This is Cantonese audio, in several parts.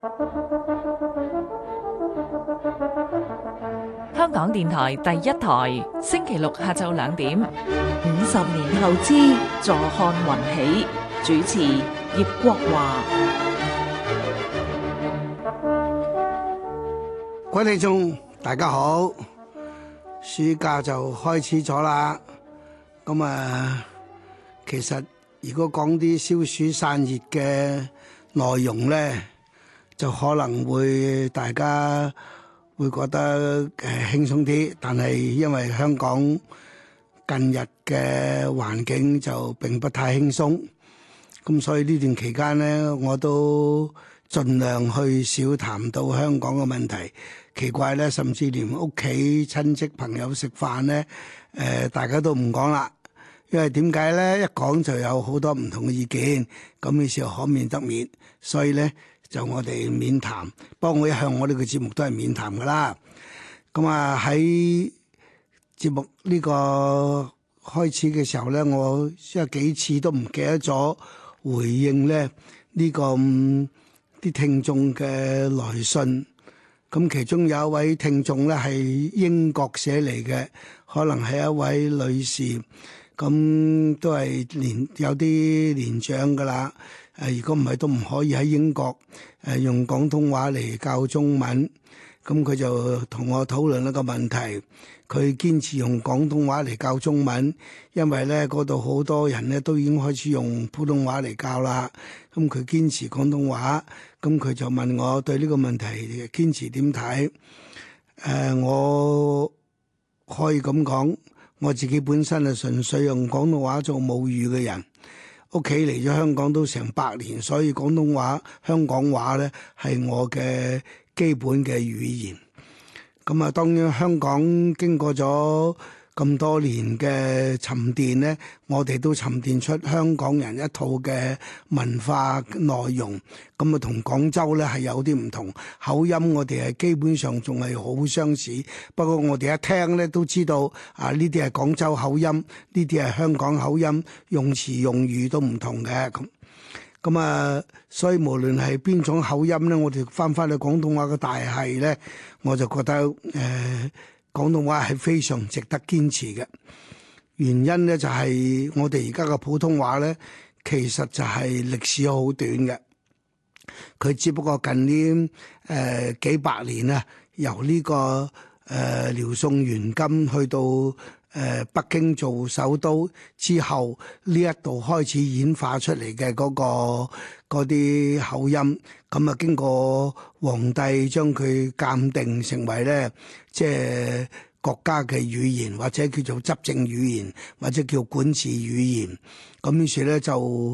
香港電台第一台，星期六下晝2點。 50年後之坐看雲起，主持葉國華。 各位聽眾大家好，暑假就開始咗啦。咁其實如果講啲消暑散熱嘅內容咧，就可能會大家會覺得輕鬆啲，但係因為香港近日嘅環境就並不太輕鬆，咁所以呢段期間咧，我都盡量去少談到香港嘅問題。奇怪咧，甚至連屋企親戚朋友食飯咧，大家都唔講啦。因為點解咧？一講就有好多唔同嘅意見，咁於是可免得免，所以咧就我哋免談。不過我一向我呢個節目都係免談噶啦。咁喺節目呢個開始嘅時候咧，我有幾次都唔記得咗回應咧呢個啲聽眾嘅來信。咁其中有一位聽眾咧係英國寫嚟嘅，可能係一位女士，咁都係有啲年長噶啦。如果唔係都唔可以喺英國用廣東話嚟教中文。咁佢就同我討論一個問題，佢堅持用廣東話嚟教中文，因為咧嗰度好多人咧都已經開始用普通話嚟教啦。咁佢堅持廣東話，咁佢就問我對呢個問題堅持點睇？我可以咁講，我自己本身係純粹用廣東話做母語嘅人，屋企嚟咗香港都成100年，所以廣東話、香港話咧係我嘅基本嘅語言。咁當然香港經過咗咁多年嘅沉澱咧，我哋都沉澱出香港人一套嘅文化內容。咁同廣州咧係有啲唔同，口音我哋係基本上仲係好相似。不過我哋一聽咧都知道呢啲係廣州口音，呢啲係香港口音，用詞用語都唔同嘅。咁所以無論係邊種口音咧，我哋翻去廣東話嘅大系咧，我就覺得廣東話係非常值得堅持嘅。原因咧就係我哋而家嘅普通話咧，其實就係歷史好短嘅。佢只不過近呢幾百年啊，由呢個遼宋元金去到北京做首都之後，呢一度開始演化出嚟嘅嗰啲口音，咁經過皇帝將佢鑑定成為咧，即係國家嘅語言，或者叫做執政語言，或者叫管治語言。咁於是咧就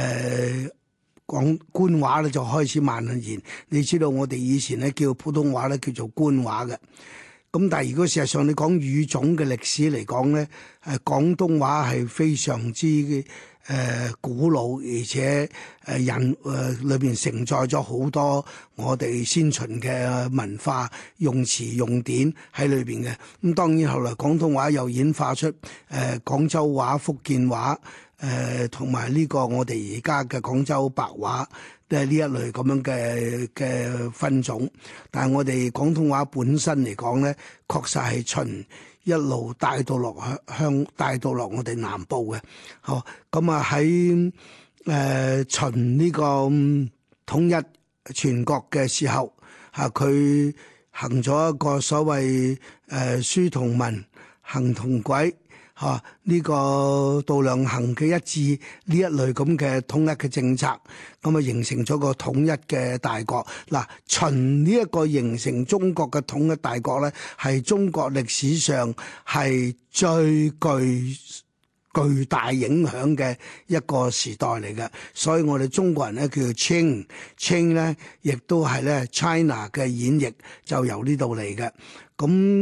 講官話咧就開始蔓延。你知道我哋以前咧叫普通話咧叫做官話嘅。咁但係如果事實上你講語種嘅歷史嚟講咧，廣東話係非常之古老，而且人裏邊承載咗好多我哋先秦嘅文化用詞用典喺裏邊嘅。咁當然後來廣東話又演化出廣州話、福建話，同埋呢個我哋而家嘅廣州白話。都係呢一類咁樣嘅分種，但係我哋廣東話本身嚟講咧，確實係秦一路帶到落帶到落我哋南部嘅。好，咁喺秦呢個統一全國嘅時候，佢行咗一個所謂書同文，行同軌。呢個度量衡嘅一致，呢一類咁嘅統一嘅政策，咁形成咗個統一嘅大國。嗱，秦呢一個形成中國嘅統一大國咧，係中國歷史上係最巨大影響嘅一個時代嚟嘅。所以我哋中國人咧叫做 Qing 咧，亦都係咧 China 嘅演繹就由呢度嚟嘅。咁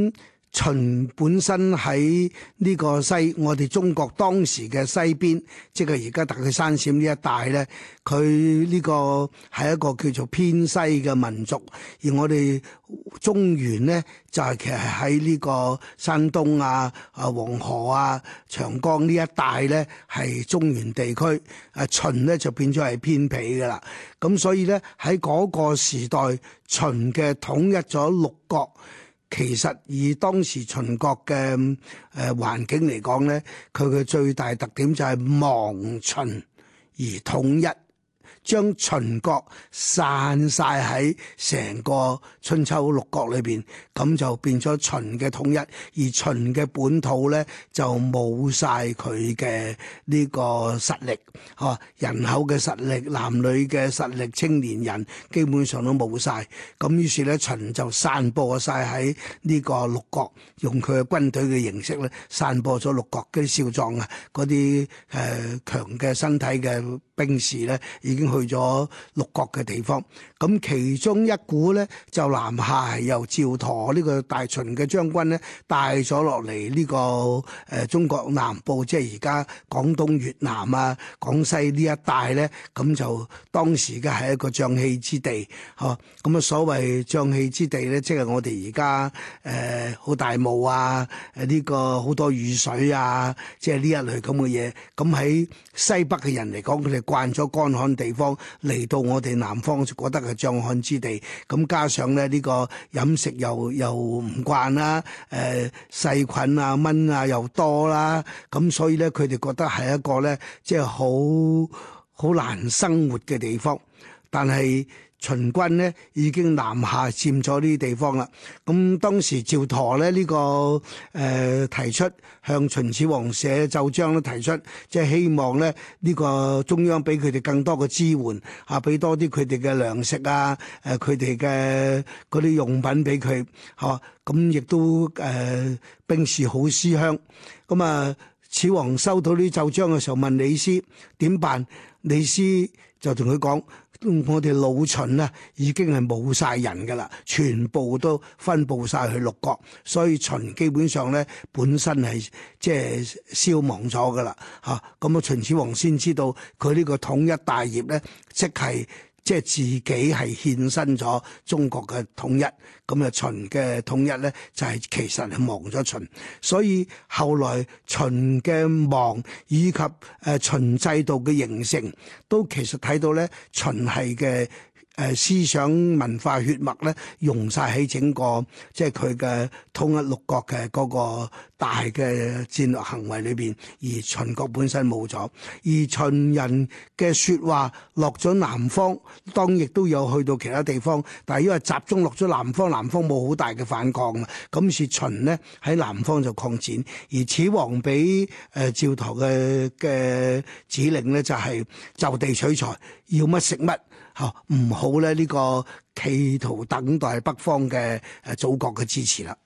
秦本身喺呢個我哋中國當時嘅西邊，即係而家特區山陝呢一帶咧，佢呢個係一個叫做偏西嘅民族，而我哋中原咧就係其實喺呢個山東啊、黃河啊、長江呢一帶咧係中原地區，秦咧就變咗係偏僻噶啦。咁所以咧喺嗰個時代，秦嘅統一咗六國。其實以當時秦國嘅環境嚟講咧，佢嘅最大特點就係亡秦而統一，將秦國散晒喺成個春秋六國裏邊，咁就變咗秦嘅統一，而秦嘅本土咧就冇晒佢嘅呢個實力，人口嘅實力、男女嘅實力、青年人基本上都冇晒，咁於是咧秦就散播晒喺呢個六國，用佢嘅軍隊嘅形式咧散播咗六國嗰啲少壯啊，嗰啲強嘅身體嘅兵士咧已經去咗六國嘅地方，咁其中一股咧就南下係由趙佗呢個大秦嘅將軍咧帶咗落嚟呢個中國南部，即係而家廣東、越南啊、廣西呢一帶咧，咁就當時嘅係一個瘴氣之地，咁啊所謂瘴氣之地咧，即係我哋而家好大霧啊，呢個好多雨水啊，即係呢一類咁嘅嘢。咁喺西北嘅人嚟講，佢哋慣咗乾旱地方，嚟到我哋南方就覺得係瘴旱之地。咁加上咧呢個飲食又唔慣啦，細菌啊蚊啊又多啦，咁所以咧佢哋覺得係一個咧即係好難生活嘅地方。但係秦軍咧已經南下佔咗呢啲地方啦。咁當時趙佗咧呢個提出向秦始皇寫奏章咧，提出即係希望咧呢個中央俾佢哋更多嘅支援啊，俾多啲佢哋嘅糧食啊，佢哋嘅嗰啲用品俾佢嚇。咁亦都兵士好思鄉。咁啊，始皇收到呢奏章嘅時候問李斯點辦？李斯就同佢講：我哋老秦啊，已經係冇晒人噶啦，全部都分佈晒去六國，所以秦基本上咧本身係即係消亡咗噶啦嚇。咁啊，秦始皇先知道佢呢個統一大業咧，即係自己係獻身咗中國嘅統一。咁啊，秦嘅統一咧就係其實係亡咗秦，所以後來秦嘅亡以及秦制度嘅形成，都其實睇到咧秦係嘅思想文化血脈咧融晒喺整個即係佢嘅統一六國嘅嗰個大嘅戰略行為裏邊，而秦國本身冇咗，而秦人嘅説話落咗南方，當然亦都有去到其他地方，但係因為集中落咗南方，南方冇好大嘅反抗啊，咁是秦呢喺南方就擴展，而始皇俾趙佗嘅指令咧就係就地取材，要乜食乜。唔好咧呢個企圖等待北方嘅祖國嘅支持啦。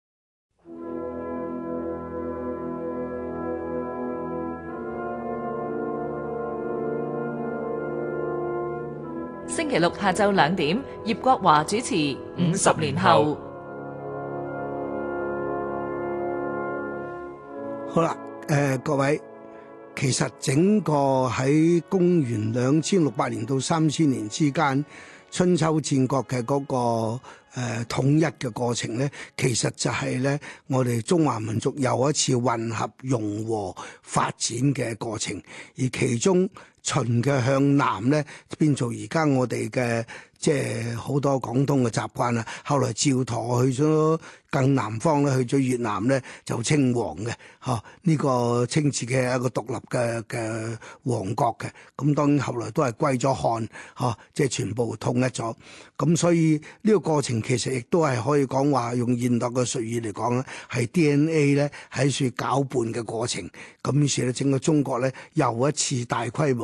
星期六下晝2點，葉國華主持《50年後》。 好啦，各位。其實整個喺公元2600年到3000年之間，春秋戰國嘅嗰個統一嘅過程咧，其實就係咧我哋中華民族又一次混合融和發展嘅過程，而其中秦嘅向南咧變做而家我哋嘅即係好多廣東嘅習慣啊。後來趙佗去咗更南方咧，去咗越南咧就稱王嘅，呢個稱自己係一個獨立嘅王國嘅。咁當然後來都係歸咗漢，即係全部統一咗。咁所以呢個過程其實亦都係可以講話用現代嘅術語嚟講咧，係 DNA 咧喺處攪拌嘅過程。咁於是咧整個中國咧又一次大規模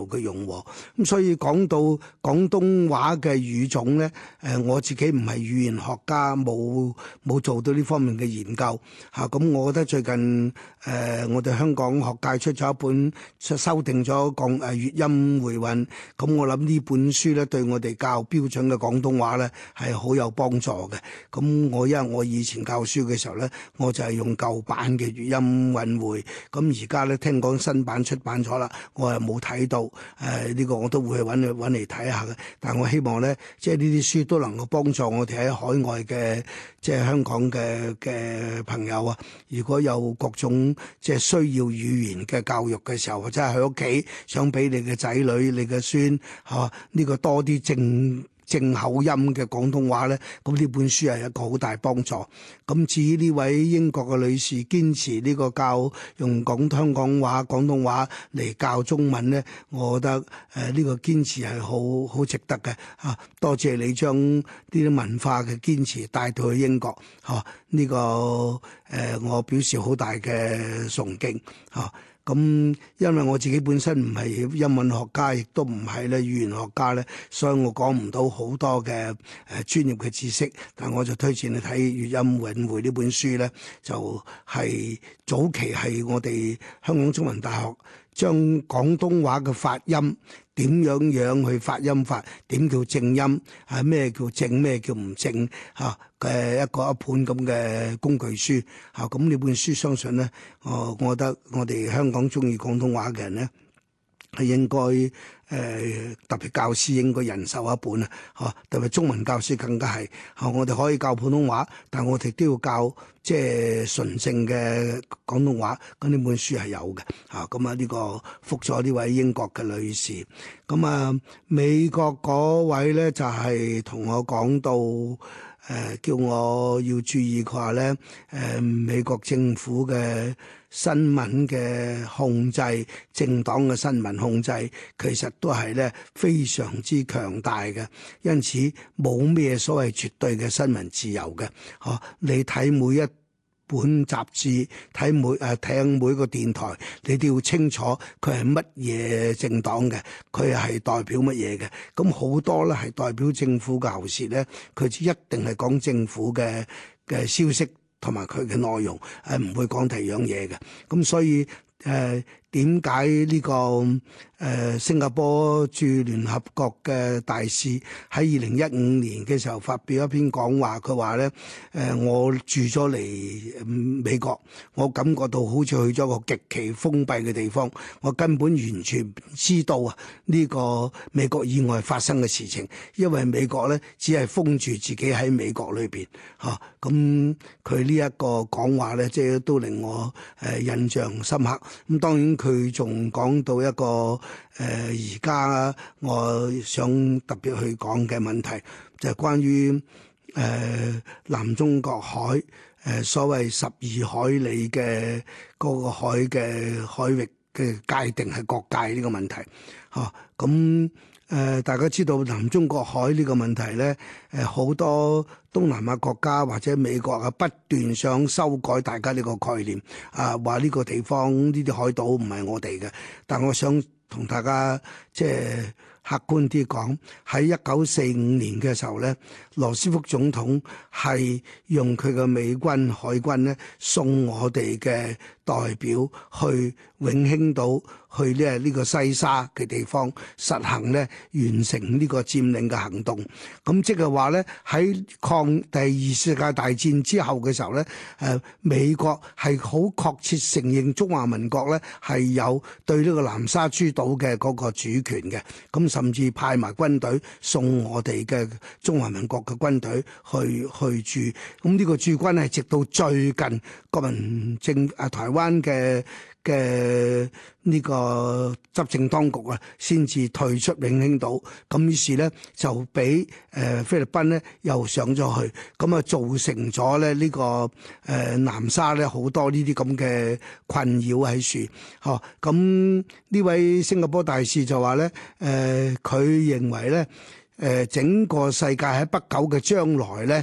嘅融和。咁所以講到廣東話嘅語種咧，我自己唔係語言學家，冇做到呢方面嘅研究嚇。咁我覺得最近我哋香港學界出咗一本修訂咗粵音回韻，咁我諗呢本書咧對我哋教標準嘅廣東話咧係好有幫助嘅。咁因為我以前教書嘅時候咧，我就係用舊版嘅粵音韻回，咁而家咧聽講新版出版咗啦，我係冇睇到，呢個我都會去揾嚟睇下嘅。但係我希望咧，即係呢啲書都能夠幫助我哋喺海外嘅即係香港嘅朋友啊，如果有各種即係需要語言嘅教育嘅時候，或者係喺屋企想俾你嘅仔女、你嘅孫嚇呢個多啲正口音嘅廣東話咧，咁呢本書係一個好大幫助。咁至於呢位英國嘅女士堅持呢個用香港話、廣東話嚟教中文咧，我覺得呢個堅持係好值得嘅嚇。多謝你將呢啲文化嘅堅持帶到去英國嚇，呢個我表示好大嘅崇敬嚇。咁因為我自己本身唔係英文學家，亦都唔係咧語言學家咧，所以我講唔到好多嘅專業嘅知識。但我就推薦你睇《粵音韻回》呢本書咧，就係早期係我哋香港中文大學將廣東話嘅發音點樣去發音法，點叫正音，咩叫正，咩叫唔正嚇嘅一本咁嘅工具書嚇。咁呢本書相信咧，我覺得我哋香港中意廣東話嘅人咧係應該特別教師應該人手一本啊！嚇，特別中文教師更加係嚇，我哋可以教普通話，但我哋都要教即係純正嘅廣東話。咁呢本書係有嘅嚇。咁啊呢個覆咗呢位英國嘅女士。咁啊美國嗰位咧就係同我講到叫我要注意佢話咧美國政府嘅新聞嘅控制，政黨嘅新聞控制其實都係咧非常之強大嘅，因此冇咩所謂絕對嘅新聞自由嘅。嚇，你睇每一本雜誌，聽每個電台，你都要清楚佢係乜嘢政黨嘅，佢係代表乜嘢嘅。咁好多咧係代表政府嘅喉舌咧，佢一定係講政府嘅消息同埋佢嘅內容，唔會講第二樣嘢嘅。咁所以點解呢個新加坡駐聯合國嘅大使喺2015年嘅時候發表一篇講話，佢話咧我住咗嚟美國，我感覺到好似去咗個極其封閉嘅地方，我根本完全唔知道啊呢個美國以外發生嘅事情，因為美國咧只係封住自己喺美國裏邊嚇。咁佢呢一個講話咧，即係都令我印象深刻。咁當然佢仲講到一個而家我想特別去講嘅問題，就係關於南中國海所謂12海里嘅嗰個海域嘅界定係國界呢個問題嚇。咁大家知道南中國海呢個問題咧，好多東南亞國家或者美國啊，不斷想修改大家呢個概念啊，話呢個地方呢啲海島唔係我哋嘅。但我想同大家即係客觀啲講，喺1945年嘅時候咧，羅斯福總統係用佢嘅美軍海軍咧送我哋嘅代表去永興島，去呢個西沙嘅地方實行咧完成呢個佔領嘅行動。咁即係話咧喺第二次世界大戰之後嘅時候咧，美國係好確切承認中華民國咧係有對呢個南沙諸島嘅嗰個主權嘅。咁甚至派埋軍隊送我哋嘅中華民國嘅軍隊去駐。咁呢個駐軍係直到最近國民台灣嘅呢個執政當局啊，先至退出永興島。咁於是咧就俾菲律賓咧又上咗去，咁啊造成咗咧呢個南沙咧好多呢啲咁嘅困擾喺處。嗬，咁呢位新加坡大使就話咧，佢認為咧整個世界喺不久嘅將來咧，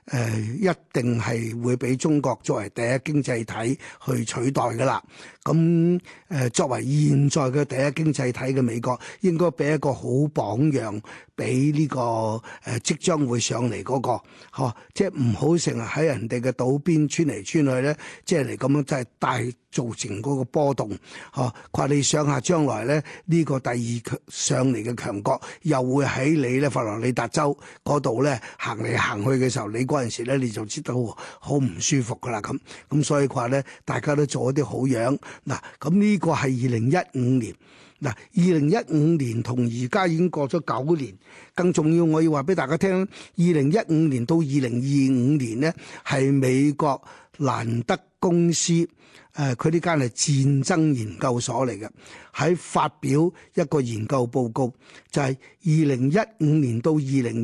一定係會俾中國作為第一經濟體去取代㗎啦。咁作為現在嘅第一經濟體嘅美國，應該俾一個好榜樣俾呢個即將會上嚟嗰個，即係唔好成日喺人哋嘅島邊穿嚟穿去咧，即係嚟咁樣真係大造成嗰個波動。佢話你想下將來咧，呢個第二上嚟嘅強國又會喺你咧佛羅里達州嗰度咧行嚟行去嘅時候，你嗰陣時咧你就知道好唔舒服噶啦咁所以佢話咧，大家都做一啲好樣嗱。咁呢個係2015年嗱，2015年同而家已經過咗9年，更重要我要話俾大家聽，2015年到2025年呢，係美國蘭德公司佢呢間係戰爭研究所嚟嘅，喺發表一個研究報告，就係2015年到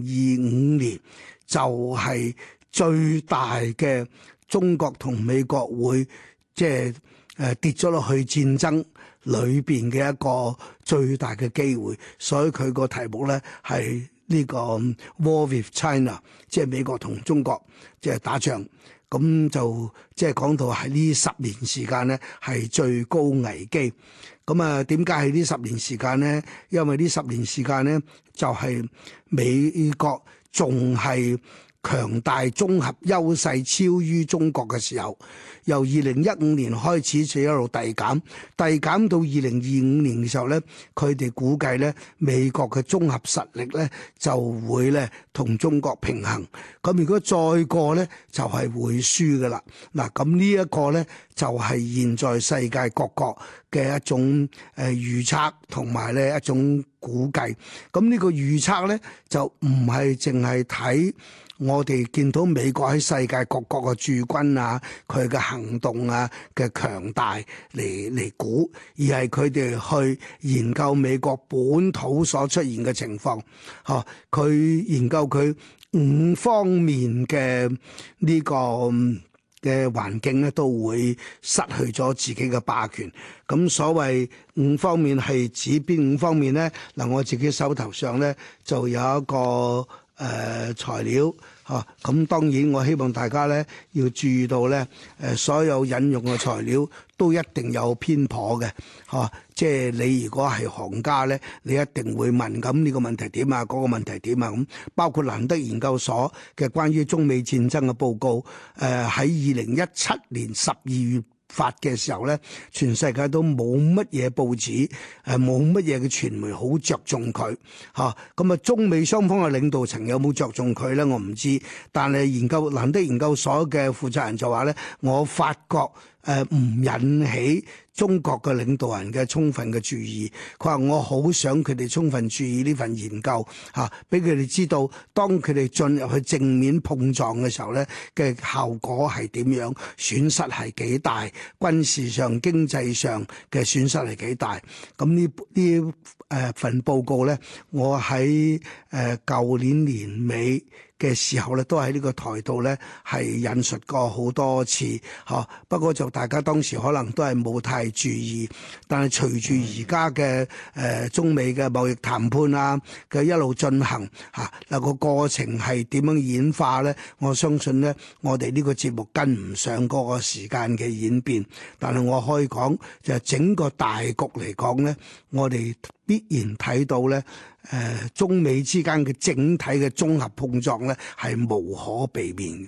2025年就係最大嘅中國同美國會即係跌咗落去戰爭裏邊嘅一個最大嘅機會，所以佢個題目咧係呢個 War with China， 即係美國同中國即係打仗。咁就即係講到喺呢10年時間咧係最高危機。咁啊，點解係呢10年時間咧？因為呢10年時間咧就係美國仲係強大綜合優勢超於中國嘅時候，由2015年開始就一路遞減到2025年嘅時候咧，佢哋估計咧美國嘅綜合實力咧就會咧同中國平衡。咁如果再過咧就係會輸㗎啦。嗱，咁呢一個咧就係現在世界各國嘅一種預測同埋咧一種估計。咁呢個預測咧就唔係淨係睇我哋見到美國喺世界各國嘅駐軍啊，佢嘅行動啊嘅強大嚟估，而係佢哋去研究美國本土所出現嘅情況，佢研究佢5方面嘅呢個嘅環境咧，都會失去咗自己嘅霸權。咁所謂5方面係指邊5方面咧？嗱，我自己手頭上咧就有一個材料嚇，咁當然我希望大家咧要注意到咧，所有引用嘅材料都一定有偏頗嘅嚇，即係你如果係行家咧，你一定會問咁呢個問題點啊，嗰個問題點啊咁，包括蘭德研究所嘅關於中美戰爭嘅報告，喺2017年12月發嘅時候咧，全世界都冇乜嘢報紙，冇乜嘢嘅傳媒好着重佢嚇。咁啊，中美雙方嘅領導層有冇着重佢咧？我唔知。但係蘭德研究所嘅負責人就話咧，我發覺唔引起中國嘅領導人嘅充分嘅注意。佢話我好想佢哋充分注意呢份研究嚇，俾佢哋知道當佢哋進入去正面碰撞嘅時候咧嘅效果係點樣，損失係幾大，軍事上經濟上嘅損失係幾大。咁呢份報告咧，我喺舊年年尾嘅時候咧，都喺呢個台度咧係引述過好多次嚇。不過就大家當時可能都係冇太注意，但係隨住而家嘅中美嘅貿易談判啊嘅一路進行嚇，嗱個過程係點樣演化咧？我相信咧，我哋呢個節目跟唔上嗰個時間嘅演變，但係我可以講就係整個大局嚟講咧，我哋必然睇到咧，中美之間嘅整體嘅綜合碰撞咧，係無可避免嘅。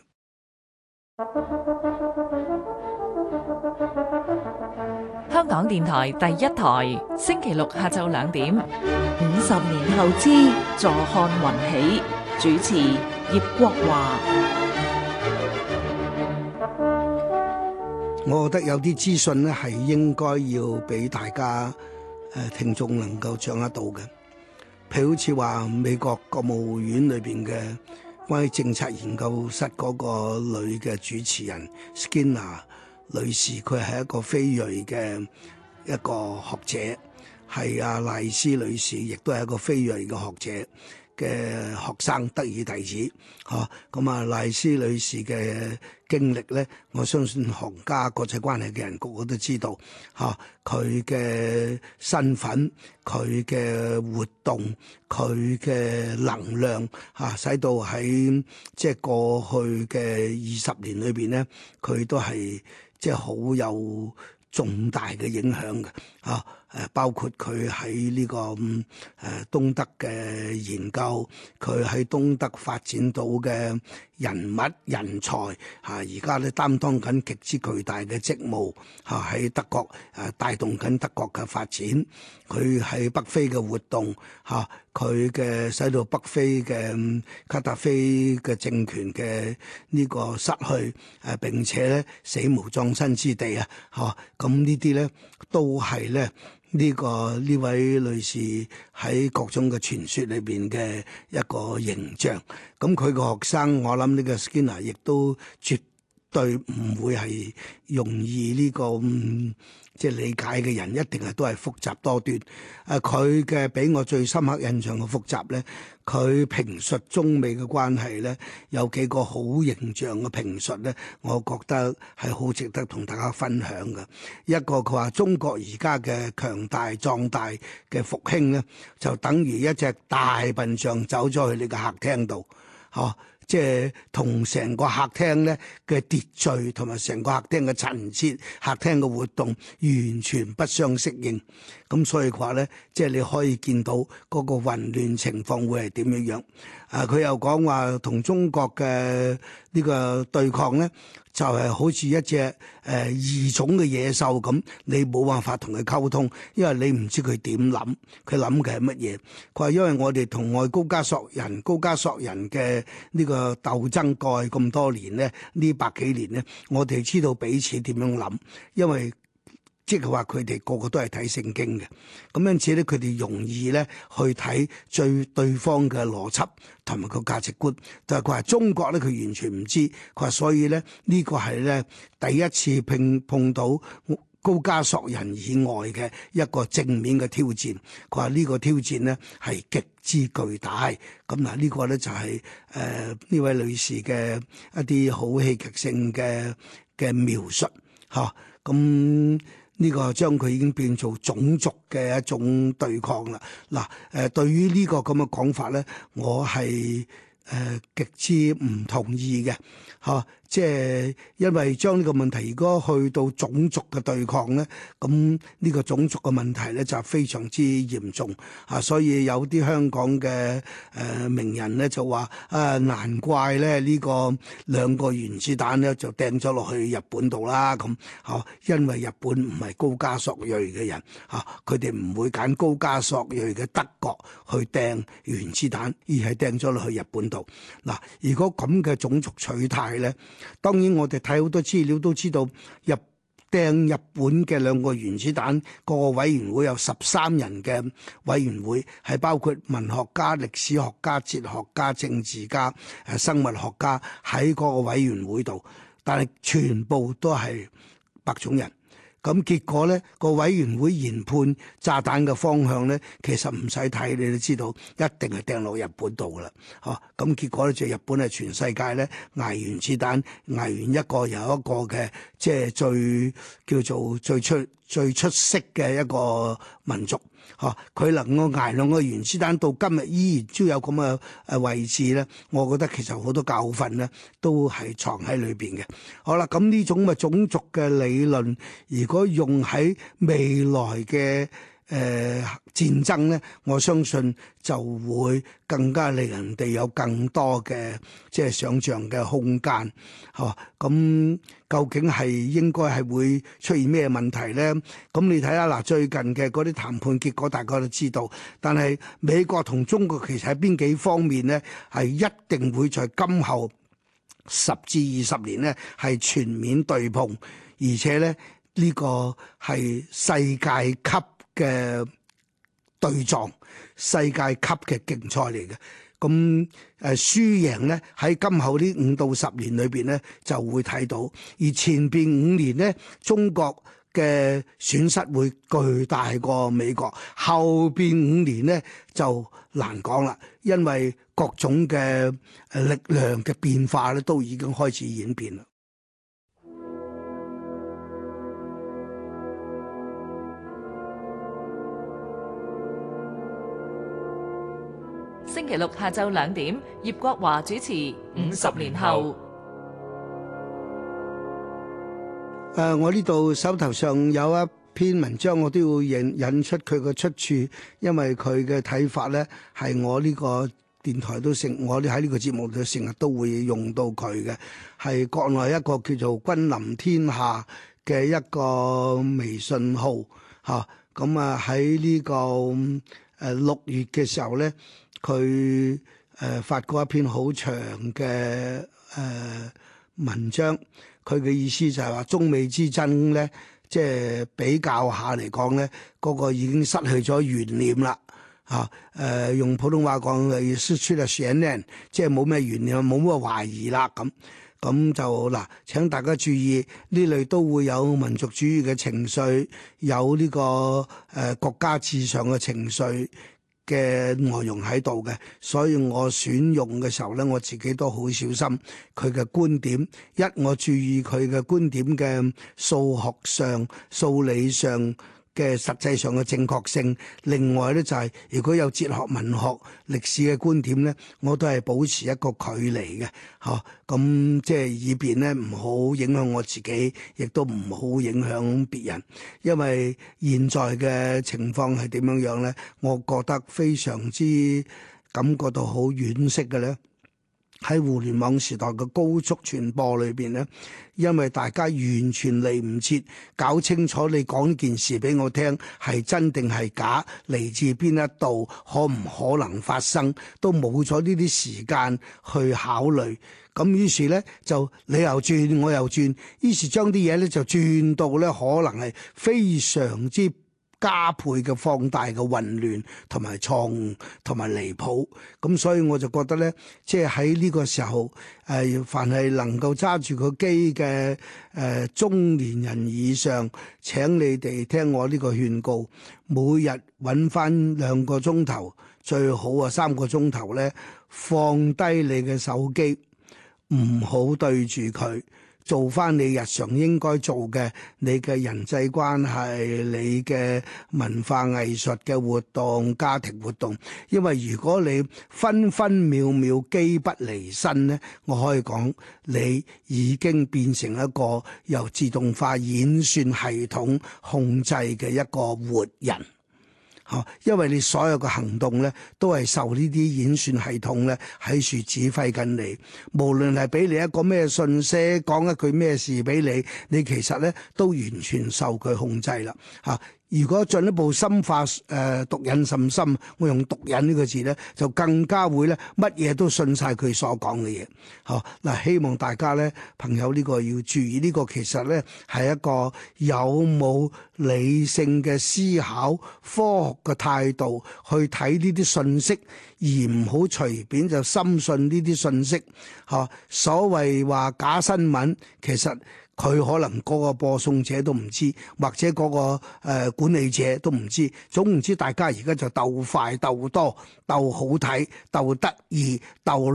香港電台第一台，星期六下晝2點。 50年後之坐看雲起，主持葉國華。 我覺得有啲資訊咧係應該要俾大家聽眾能夠掌握到嘅，譬如好似話美國國務院裏邊嘅關於政策研究室嗰個女嘅主持人 Skinner 女士，佢係一個非裔嘅一個學者，係阿賴斯女士亦都係一個非裔嘅學者。 嘅學生得以弟子，咁啊賴斯女士嘅經歷咧，我相信行家國際關係嘅人個個都知道，佢嘅身份、佢嘅活動、佢嘅能量使到喺即係過去嘅20年裏邊咧，佢都係即係好有重大嘅影響嘅，包括佢喺呢個東德嘅研究，佢喺東德發展到嘅人物人才，而家咧擔當緊極之巨大嘅職務，喺德國帶動緊德國嘅發展。佢喺北非嘅活動，佢嘅使到北非嘅卡達菲嘅政權嘅呢個失去，並且咧死無葬身之地啊！咁呢啲咧都係咧呢位女士喺各種嘅傳說裏邊嘅一個形象。咁佢個學生，我諗呢個 Skinner 亦都絕對唔會係容易呢個即係理解嘅人，一定係都係複雜多端。佢嘅俾我最深刻印象嘅複雜咧，佢評述中美嘅關係咧，有幾個好形象嘅評述咧，我覺得係好值得同大家分享嘅。一個佢話中國而家嘅強大壯大嘅復興咧，就等於一隻大笨象走咗去你嘅客廳度，即係同成個客廳咧嘅秩序同埋成個客廳嘅陳設、客廳嘅活動完全不相適應。咁所以話咧，即係你可以見到嗰個混亂情況會係點樣樣。佢又講話同中國嘅呢個對抗咧，就係好似一隻異種嘅野獸咁，你冇辦法同佢溝通，因為你唔知佢點諗，佢諗嘅係乜嘢。佢話因為我哋同外高加索人嘅呢個鬥爭過去咁多年咧，呢百幾年咧，我哋知道彼此點樣諗，因為即係話佢哋個個都係睇聖經嘅，咁因此咧，佢哋容易咧去睇對方嘅邏輯同埋個價值觀。但係佢話中國咧，佢完全唔知。佢話所以咧，呢個係咧第一次碰到高加索人以外嘅一個正面嘅挑戰。佢話呢個挑戰咧係極之巨大。咁嗱，呢個咧就係呢位女士嘅一啲好戲劇性嘅描述嚇。咁呢個將佢已經變做種族嘅一種對抗啦。嗱，對於呢個咁嘅講法咧，我係極之唔同意嘅，即係因為將呢個問題如果去到種族嘅對抗咧，咁呢個種族嘅問題咧就非常之嚴重所以有啲香港嘅名人咧就話難怪咧呢個兩個原子彈咧就掟咗落去日本度啦咁因為日本唔係高加索裔嘅人佢哋唔會揀高加索裔嘅德國去掟原子彈，而係掟咗落去日本度。嗱，如果咁嘅種族取態咧，當然我哋睇好多資料都知道掟日本嘅兩個原子彈，個委員會有13人嘅委員會，係包括文學家、歷史學家、哲學家、政治家、生物學家喺嗰個委員會度，但係全部都係白種人。咁結果咧，個委員會研判炸彈嘅方向咧，其實唔使睇你都知道，一定係掟落日本度噶啦。咁結果咧就日本係全世界咧捱原子彈捱完一個又一個嘅，即係叫做最出色嘅一個民族。佢能夠捱兩個原子彈到今日依然都有咁嘅位置咧，我覺得其實好多教訓咧都係藏喺裏邊嘅。好啦，咁呢種嘅種族嘅理論，如果用喺未來嘅戰爭咧，我相信就會更加令人哋有更多嘅即係想像嘅空間。咁究竟係應該係會出現咩問題咧？咁你睇下嗱，最近嘅嗰啲談判結果，大家都知道。但係美國同中國其實喺邊幾方面咧，係一定會在今後10至20年咧係全面對碰，而且咧呢個係世界級嘅對撞，世界級嘅競賽嚟嘅。咁輸贏咧喺今後呢5到10年裏邊咧就會睇到，而前邊5年咧中國嘅損失會巨大過美國，後邊5年呢就難講啦，因為各種嘅力量嘅變化咧都已經開始演變啦。 星期六下晝2點，葉國華主持《50年後》。 我呢度手頭上有一篇文章，我都要引出佢嘅出處，因為佢嘅睇法咧係我呢個電台都我哋喺呢個節目度成日都會用到佢嘅，係國內一個叫做君臨天下嘅一個微信號嚇。咁喺呢個6月嘅時候咧，佢發過一篇好長嘅文章。佢嘅意思就係話中美之爭咧，即係比較下嚟講咧，嗰個已經失去咗懸念啦。用普通話講係失去咗懸念，即係冇咩懸念，冇乜懷疑啦。咁就嗱，請大家注意，呢類都會有民族主義嘅情緒，有呢個國家至上嘅情緒嘅內容喺度嘅，所以我選用嘅時候咧，我自己都好小心佢嘅觀點。我注意佢嘅觀點嘅數學上、數理上嘅實際上嘅正確性。另外咧就係如果有哲學、文學、歷史嘅觀點咧，我都係保持一個距離嘅，咁即係以便咧唔好影響我自己，亦都唔好影響別人。因為現在嘅情況係點樣樣咧？我覺得非常之感覺到好惋惜嘅咧。喺互聯網時代嘅高速傳播裏邊咧，因為大家完全嚟唔切搞清楚你講件事俾我聽係真定係假，嚟自邊一度，可唔可能發生，都冇咗呢啲時間去考慮。咁於是咧就你又轉我又轉，於是將啲嘢咧就轉到咧可能係非常之加倍嘅放大嘅混亂同埋錯誤同埋離譜。咁所以我就覺得咧，即係喺呢個時候，凡係能夠揸住個機嘅中年人以上，請你哋聽我呢個勸告，每日揾翻2個鐘頭，最好3個鐘頭咧，放低你嘅手機，唔好對住佢。做翻你日常應該做嘅，你嘅人際關係，你嘅文化藝術嘅活動、家庭活動。因為如果你分分秒秒機不離身咧，我可以講你已經變成一個由自動化演算系統控制嘅一個活人。因為你所有嘅行動咧，都係受呢啲演算系統咧喺處指揮緊你。無論係俾你一個咩信息，講一句咩事俾你，你其實咧都完全受佢控制啦。如果進一步深化毒癮甚深，我用毒癮呢個字咧，就更加會咧乜嘢都信晒佢所講嘅嘢。嗱，希望大家咧朋友呢個要注意，呢個其實咧係一個有冇理性嘅思考、科學嘅態度去睇呢啲信息，而唔好隨便就深信呢啲信息。所謂話假新聞，其實佢可能嗰個播送者都唔知，或者嗰個管理者都唔知。總唔知大家而家就鬥快、鬥多、鬥好睇、鬥得意、鬥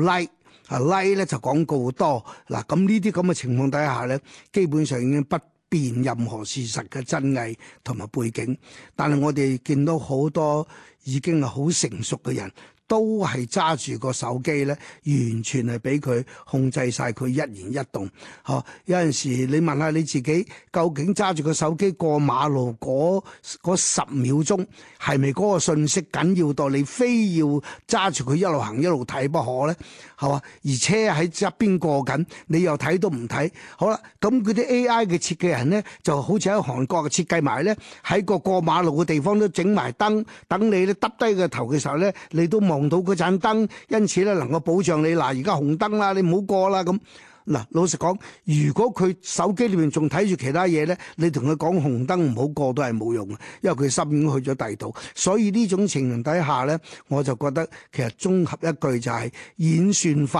like 咧就廣告多。嗱，咁呢啲咁嘅情況底下咧，基本上已經不辨任何事實嘅真偽同埋背景。但係我哋見到好多已經係好成熟嘅人，都係揸住個手機咧，完全係俾佢控制晒佢一言一動。有陣時你問下你自己，究竟揸住個手機過馬路嗰10秒鐘，係咪嗰個信息緊要到你非要揸住佢一路行一路睇不可咧？係嘛？而車喺側邊過緊，你又睇都唔睇。好啦，咁嗰啲 AI 嘅設計人咧，就好似喺韓國嘅設計埋咧，喺個過馬路嘅地方都整埋燈，等你咧耷低個頭嘅時候咧，你都望到嗰盞燈，因此咧能夠保障你。嗱，而家紅燈啦，你唔好過啦咁。嗱，老實講，如果佢手機裏面仲睇住其他嘢咧，你同佢講紅燈唔好過都係冇用嘅，因為佢心已經去咗第二度。所以呢種情形底下咧，我就覺得其實綜合一句就係演算法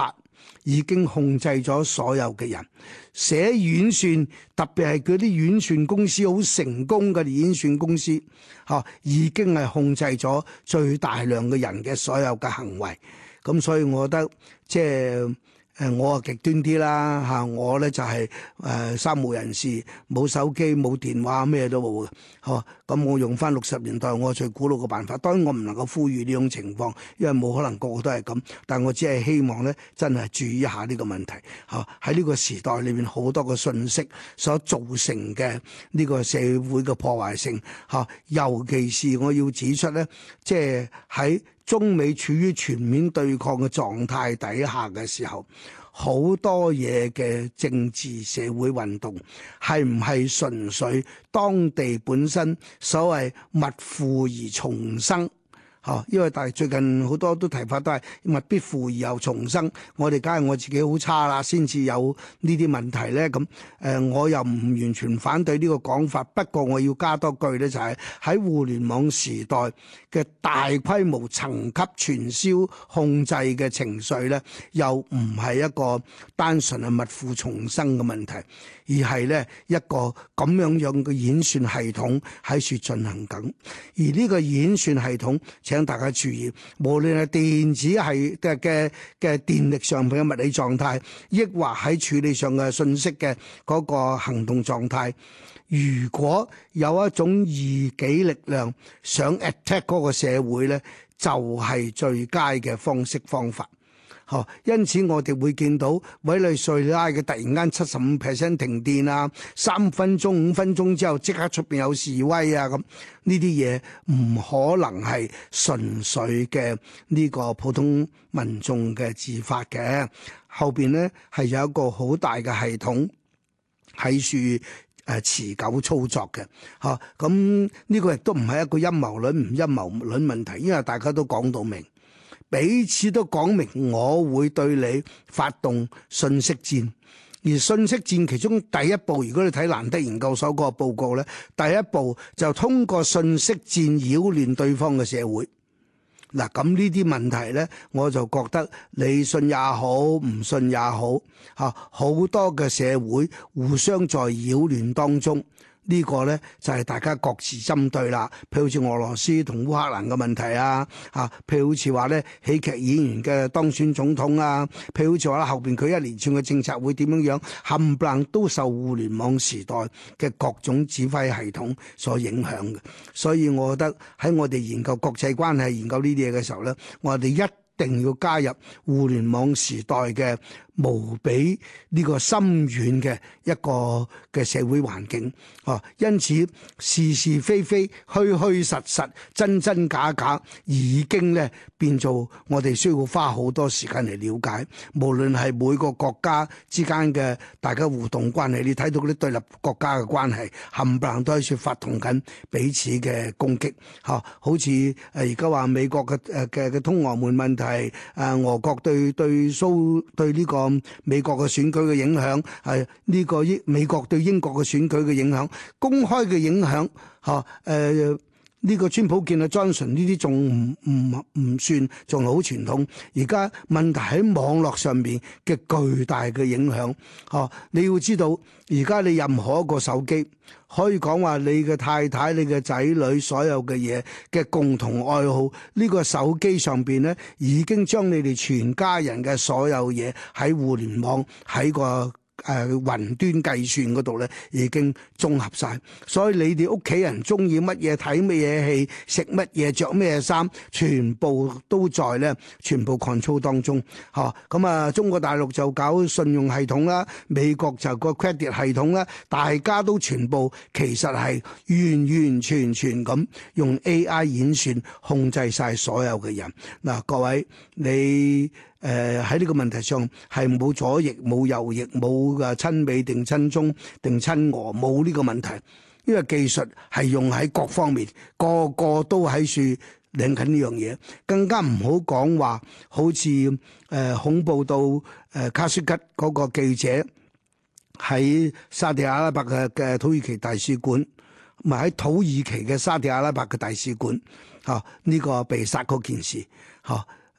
已經控制咗所有嘅人。寫演算，特別係嗰啲演算公司好成功嘅演算公司，已經係控制咗最大量嘅人嘅所有嘅行為。咁所以我覺得即係我啊極端啲啦嚇，我咧就係三無人士，冇手機冇電話咩都冇嘅，咁我用翻60年代我最古老嘅辦法。當然我唔能夠呼籲呢種情況，因為冇可能個個都係咁，但我只係希望咧真係注意一下呢個問題嚇。喺呢個時代裏面好多個信息所造成嘅呢個社會嘅破壞性嚇，尤其是我要指出咧，即係喺中美處於全面對抗嘅狀態底下嘅時候，好多嘢嘅政治社會運動係唔係純粹當地本身所謂物富而重生？因為但係最近好多都提法都係物必富而又重生，我哋梗係我自己好差啦，先至有呢啲問題咧。咁我又唔完全反對呢個講法，不過我要加多句咧，就係喺互聯網時代嘅大規模層級傳銷控制嘅情緒咧，又唔係一個單純係物富重生嘅問題，而係咧一個咁樣嘅演算系統喺處進行緊，而呢個演算系統，請大家注意，無論係電子係嘅電力上邊嘅物理狀態，抑或喺處理上嘅信息嘅嗰個行動狀態，如果有一種異己力量想 attack 嗰個社會咧，就係最佳嘅方式方法。因此我哋會見到委內瑞拉嘅突然間75% 停電啊，3分鐘5分鐘之後即刻出邊有示威啊，咁呢啲嘢唔可能係純粹嘅呢個普通民眾嘅自發嘅，後邊呢係有一個好大嘅系統喺處持久操作嘅，咁呢個亦都唔係一個陰謀論唔陰謀論問題，因為大家都講到明。彼此都講明，我會對你發動信息戰，而信息戰其中第一步，如果你睇蘭德研究所嗰個報告咧，第一步就通過信息戰擾亂對方嘅社會。嗱，咁呢啲問題咧，我就覺得你信也好，唔信也好，好多嘅社會互相在擾亂當中。呢個呢，就係大家各自針對啦，譬如好似俄羅斯同烏克蘭嘅問題啊，譬如好似話呢喜劇演員嘅當選總統啊，譬如好似話後邊佢一連串嘅政策會點樣，冚唪唥都受互聯網時代嘅各種指揮系統所影響嘅。所以我覺得喺我哋研究國際關係、研究呢啲嘢嘅時候呢，我哋一定要加入互聯網時代嘅無比呢個深遠嘅一個嘅社會環境，因此是是非非、虛虛實實、真真假假，已經咧變做我哋需要花好多時間嚟了解。無論係每個國家之間嘅大家互動關係，你睇到嗰啲對立國家嘅關係，冚唪唥都喺處發動緊彼此嘅攻擊。好似而家話美國嘅通俄門問題，俄國對呢個美國嘅選舉嘅影響，係呢個美國對英國嘅選舉嘅影響，公開嘅影響，呢個川普見啊 Johnson 呢啲仲唔算，仲係好傳統。而家問題喺網絡上面嘅巨大嘅影響，你要知道，而家你任何一個手機可以講話你嘅太太、你嘅仔女所有嘅嘢嘅共同愛好，呢個手機上邊咧已經將你哋全家人嘅所有嘢喺互聯網喺個雲端計算嗰度咧已經綜合晒，所以你哋屋企人中意乜嘢、睇乜嘢戲、食乜嘢、着咩衫，全部都在咧全部 control 當中。咁啊，中國大陸就搞信用系統啦，美國就個 credit 系統啦，大家都全部其實係完完全全咁用 AI 演算控制晒所有嘅人。嗱，各位你喺呢個問題上係冇左翼、冇右翼、冇親美定親中定親俄，冇呢個問題，因為技術係用喺各方面，個個都喺處領緊呢樣嘢，更加唔好講話好似恐怖到卡舒吉嗰個記者喺沙地阿拉伯嘅土耳其大使館，唔係喺土耳其嘅沙地阿拉伯嘅大使館，呢個被殺嗰件事，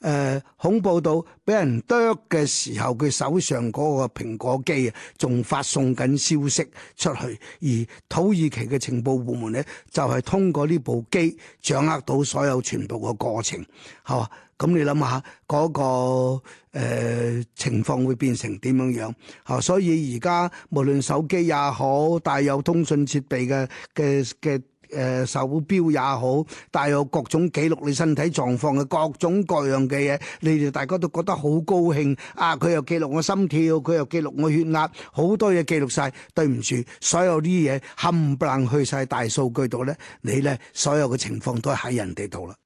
恐怖到俾人剁嘅時候，佢手上嗰個蘋果機啊，仲發送緊消息出去，而土耳其嘅情報部門咧就係通過呢部機掌握到所有全部嘅過程，係嘛？咁你諗下嗰個情況會變成點樣樣？所以而家無論手機也好，帶有通訊設備嘅手錶也好，帶有各種記錄你身體狀況嘅各種各樣嘅嘢，你哋大家都覺得好高興啊！佢又記錄我心跳，佢又記錄我血壓，好多嘢記錄晒。對唔住，所有啲嘢冚唪唥去晒大數據度咧，你咧所有嘅情況都係喺人哋度啦。